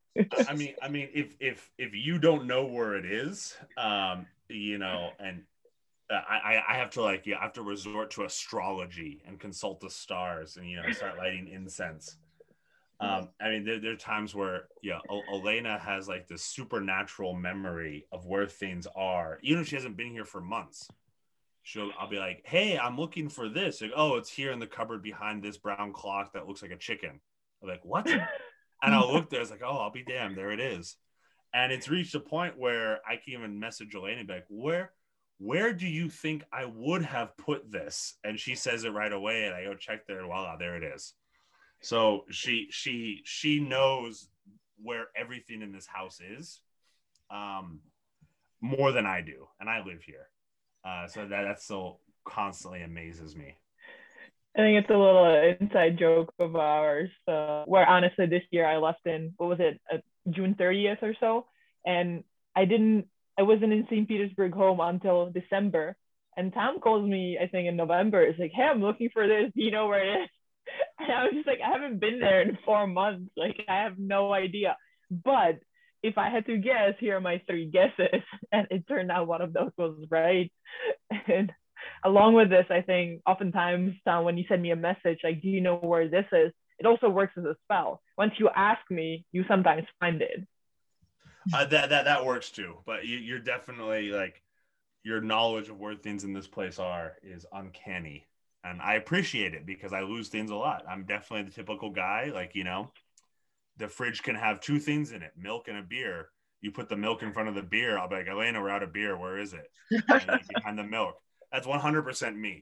I mean, I mean, if if if you don't know where it is, um, you know, and I I have to like yeah, I have to resort to astrology and consult the stars and you know start lighting incense. Um, I mean, there, there are times where yeah, o- Elena has like this supernatural memory of where things are, even if she hasn't been here for months. She'll I'll be like, hey, I'm looking for this. Like, oh, it's here in the cupboard behind this brown clock that looks like a chicken. I'm like, what? And I'll look there. It's like, oh, I'll be damned. There it is. And it's reached a point where I can even message Elena and be like, where, where do you think I would have put this? And she says it right away. And I go check there and voila, there it is. So she, she, she knows where everything in this house is um, more than I do. And I live here. Uh, so that, that still constantly amazes me. I think it's a little inside joke of ours, uh, where honestly this year I left in, what was it, uh, June thirtieth or so, and I didn't, I wasn't in Saint Petersburg home until December, and Tom calls me, I think in November, it's like, hey, I'm looking for this, do you know where it is? And I was just like, I haven't been there in four months, like I have no idea, but if I had to guess, here are my three guesses, and it turned out one of those was right. And along with this, I think oftentimes uh, when you send me a message, like, do you know where this is? It also works as a spell. Once you ask me, you sometimes find it. Uh, that, that, that works too. But you, you're definitely like, your knowledge of where things in this place are is uncanny. And I appreciate it because I lose things a lot. I'm definitely the typical guy. Like, you know, the fridge can have two things in it, milk and a beer. You put the milk in front of the beer. I'll be like, Elena, we're out of beer. Where is it? And like, behind the milk. That's one hundred percent me.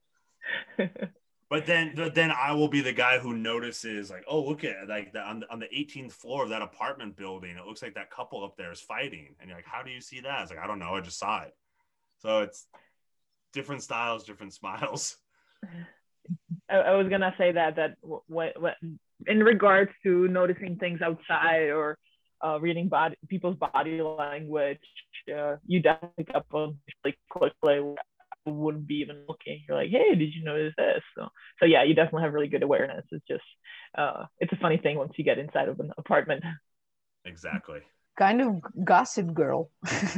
But then, then I will be the guy who notices, like, oh, look at like the, on the on the eighteenth floor of that apartment building. It looks like that couple up there is fighting, and you're like, how do you see that? It's like, I don't know, I just saw it. So it's different styles, different smiles. I, I was gonna say that that when, when in regards to noticing things outside or uh, reading body people's body language, uh, you definitely pick up on like quickly. Wouldn't be even looking. You're like, hey, did you notice this? So, so yeah, you definitely have really good awareness. It's just, uh, it's a funny thing once you get inside of an apartment. Exactly. Kind of gossip girl.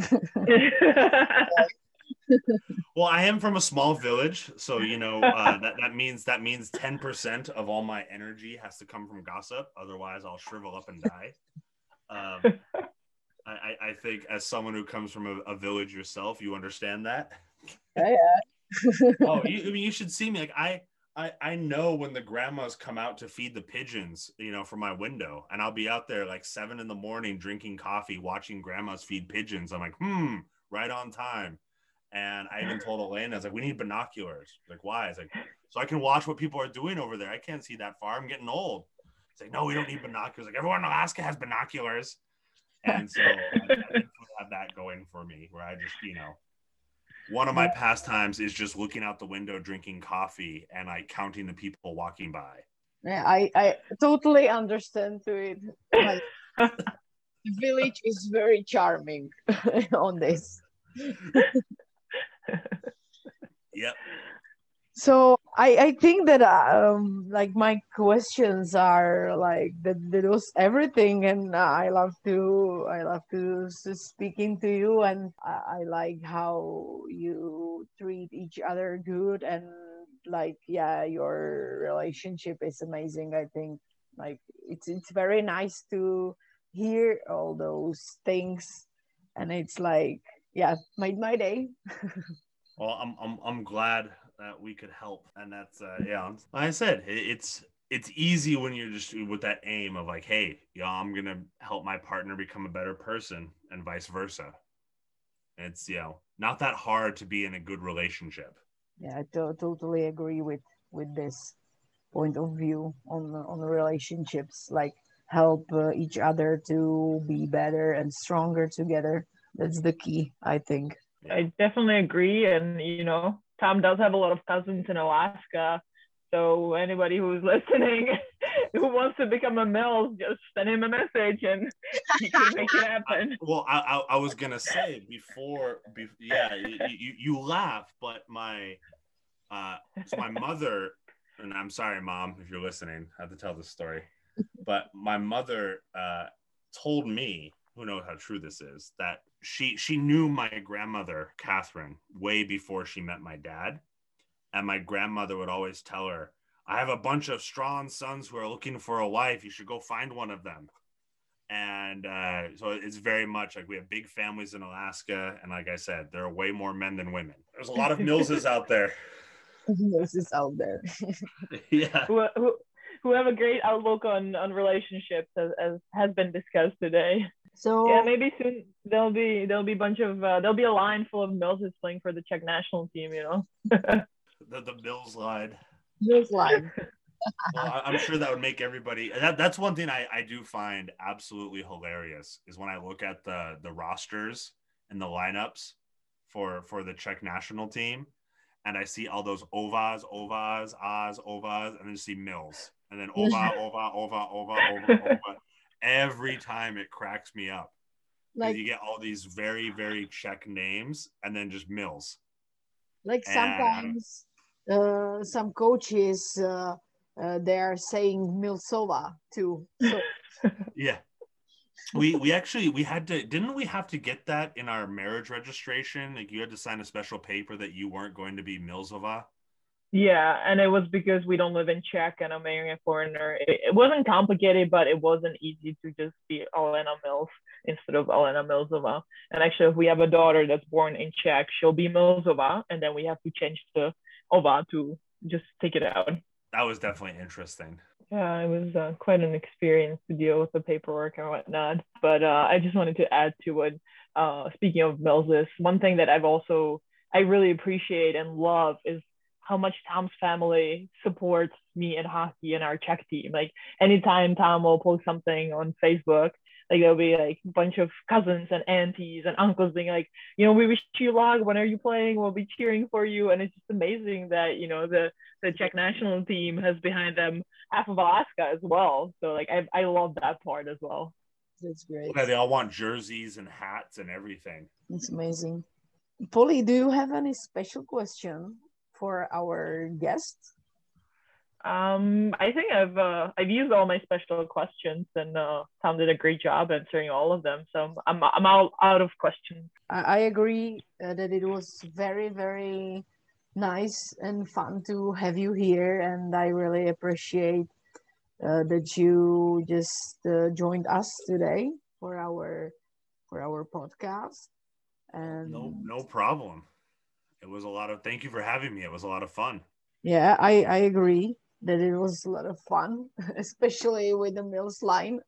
Well, I am from a small village, so you know uh, that that means that means ten percent of all my energy has to come from gossip. Otherwise, I'll shrivel up and die. Um, I, I think as someone who comes from a, a village yourself, you understand that. Yeah, yeah. Oh, you, I mean, you should see me. Like I, I, I know when the grandmas come out to feed the pigeons, you know, from my window, and I'll be out there like seven in the morning drinking coffee, watching grandmas feed pigeons. I'm like, hmm, right on time. And I even told Elena, I was like, we need binoculars. Like, why? It's like, so I can watch what people are doing over there. I can't see that far. I'm getting old. It's like, no, we don't need binoculars. Like, everyone in Alaska has binoculars. And so I, I definitely have that going for me where I just, you know, one of my pastimes is just looking out the window, drinking coffee and like counting the people walking by. Yeah, I, I totally understand to it. Like, the village is very charming on this. Yep. So I, I think that um like my questions are like that, that was everything, and I love to I love to s- speaking to you, and I, I like how you treat each other good, and like yeah, your relationship is amazing. I think like it's it's very nice to hear all those things, and it's like yeah, made my day. Well, I'm I'm I'm glad that we could help, and that's uh, yeah. Like I said, it, it's it's easy when you're just with that aim of like, hey, yeah, I'm gonna help my partner become a better person, and vice versa. It's you know not that hard to be in a good relationship. Yeah, I to- totally agree with with this point of view on on relationships. Like help uh, each other to be better and stronger together. That's the key, I think. Yeah. I definitely agree. And, you know, Tom does have a lot of cousins in Alaska. So anybody who's listening who wants to become a Mills, just send him a message and he can make it happen. I, well, I, I I was gonna say before, be, yeah, you, you you laugh, but my uh, so my mother, and I'm sorry, Mom, if you're listening, I have to tell this story, but my mother uh told me, who knows how true this is, that she she knew my grandmother, Catherine, way before she met my dad. And my grandmother would always tell her, I have a bunch of strong sons who are looking for a wife. You should go find one of them. And uh, so it's very much like we have big families in Alaska. And like I said, there are way more men than women. There's a lot of Millses out there. Millses out there. Yeah. Who, who, who have a great outlook on, on relationships, as, as has been discussed today. So yeah, maybe soon there'll be there'll be a bunch of uh, there'll be a line full of Millses playing for the Czech national team. You know. the the Mills line. Mills line. Well, I'm sure that would make everybody. That, that's one thing I, I do find absolutely hilarious is when I look at the the rosters and the lineups for for the Czech national team, and I see all those Ovas, Ovas, Oz, Ovas, and then see Mills, and then Ova, Ova, Ova, Ova, Ova, Ova. Every time it cracks me up. Like you get all these very very Czech names, and then just Mills. Like sometimes uh, some coaches. Uh, Uh, they're saying Milsova too. So. Yeah, we we actually we had to didn't we have to get that in our marriage registration? Like you had to sign a special paper that you weren't going to be Milsova. Yeah, and it was because we don't live in Czech and I'm marrying a foreigner. It, it wasn't complicated, but it wasn't easy to just be Alena Mills instead of Alena Milsova. And actually, if we have a daughter that's born in Czech, she'll be Milsova, and then we have to change the Ova to just take it out. That was definitely interesting. Yeah, it was uh, quite an experience to deal with the paperwork and whatnot. But uh, I just wanted to add to what, uh, speaking of Millses, one thing that I've also, I really appreciate and love is how much Tom's family supports me in hockey and our Czech team. Like anytime Tom will post something on Facebook, like there'll be like a bunch of cousins and aunties and uncles being like, you know, we wish you luck. When are you playing? We'll be cheering for you. And it's just amazing that, you know, the, the Czech national team has behind them half of Alaska as well. So like, I, I love that part as well. That's great. Yeah, they all want jerseys and hats and everything. It's amazing. Polly, do you have any special question for our guest? Um, I think I've uh, I've used all my special questions, and uh, Tom did a great job answering all of them. So I'm I'm out out of questions. I agree uh, that it was very very nice and fun to have you here, and I really appreciate uh, that you just uh, joined us today for our for our podcast. And no no problem. It was a lot of thank you for having me. It was a lot of fun. Yeah, I I agree that it was a lot of fun, especially with the Mills line.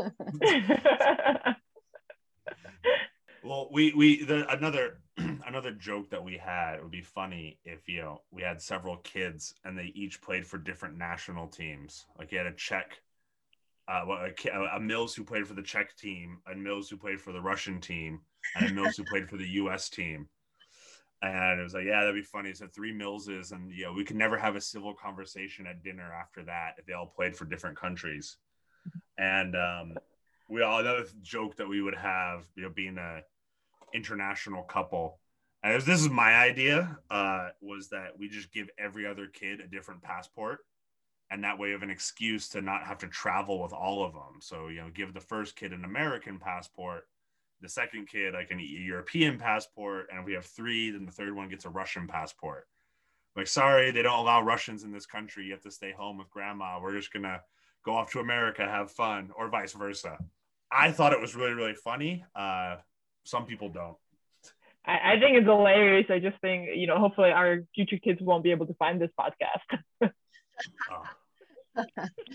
Well, we we the another another joke that we had, it would be funny if, you know, we had several kids and they each played for different national teams. Like you had a Czech, uh, a, a Mills who played for the Czech team, a Mills who played for the Russian team, and a Mills who played for the U S team. And it was like, yeah, that'd be funny. So three Millses, and you know, we could never have a civil conversation at dinner after that if they all played for different countries. And um, we all another joke that we would have, you know, being a international couple. And was, this is my idea, uh, was that we just give every other kid a different passport, and that way of an excuse to not have to travel with all of them. So, you know, give the first kid an American passport, the second kid like an European passport, and if we have three, then the third one gets a Russian passport. Like, sorry, they don't allow Russians in this country. You have to stay home with grandma. We're just gonna go off to America, have fun, or vice versa. I thought it was really, really funny. Uh, some people don't. I, I think it's hilarious. I just think, you know, hopefully our future kids won't be able to find this podcast. Oh.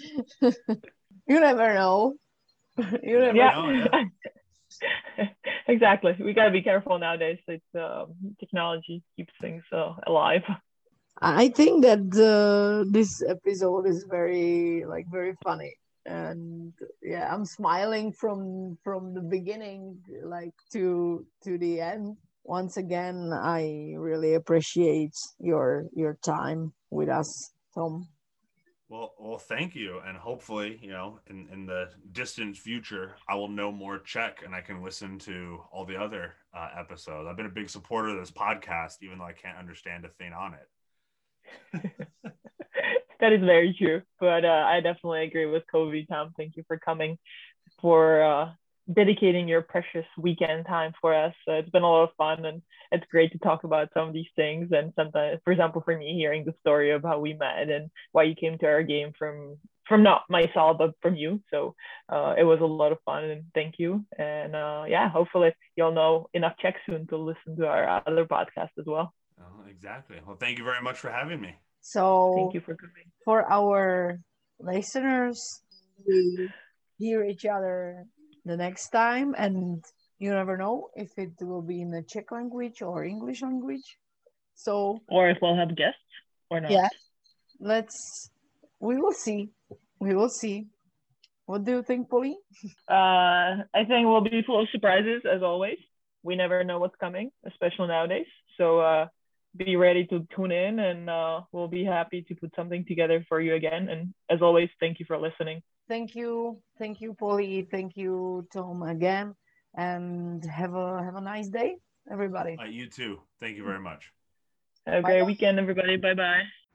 You never know. You never yeah. know. Yeah. Exactly. We gotta be careful nowadays. It's um, technology keeps things uh, alive. I think that uh, this episode is very like very funny, and yeah, I'm smiling from from the beginning like to to the end. Once again, I really appreciate your your time with us, Tom. Well, well, thank you, and hopefully, you know, in, in the distant future, I will know more Czech, and I can listen to all the other uh, episodes. I've been a big supporter of this podcast, even though I can't understand a thing on it. That is very true, but uh, I definitely agree with Kobe. Tom, thank you for coming for uh, dedicating your precious weekend time for us. Uh, it's been a lot of fun, and it's great to talk about some of these things. And sometimes, for example, for me, hearing the story of how we met and why you came to our game from from not myself but from you. So uh, it was a lot of fun, and thank you. And uh, yeah, hopefully you'll know enough Czech soon to listen to our other podcast as well. Oh, exactly. Well, thank you very much for having me. So thank you for coming. For our listeners, we hear each other the next time, and you never know if it will be in the Czech language or English language. So, or if we'll have guests or not. Yeah, let's. We will see. We will see. What do you think, Polly? Uh, I think we'll be full of surprises as always. We never know what's coming, especially nowadays. So uh, be ready to tune in, and uh, we'll be happy to put something together for you again. And as always, thank you for listening. Thank you, thank you, Polly. Thank you, Tom, again, and have a have a nice day, everybody. Uh, you too. Thank you very much. Have a great weekend, everybody. Bye bye.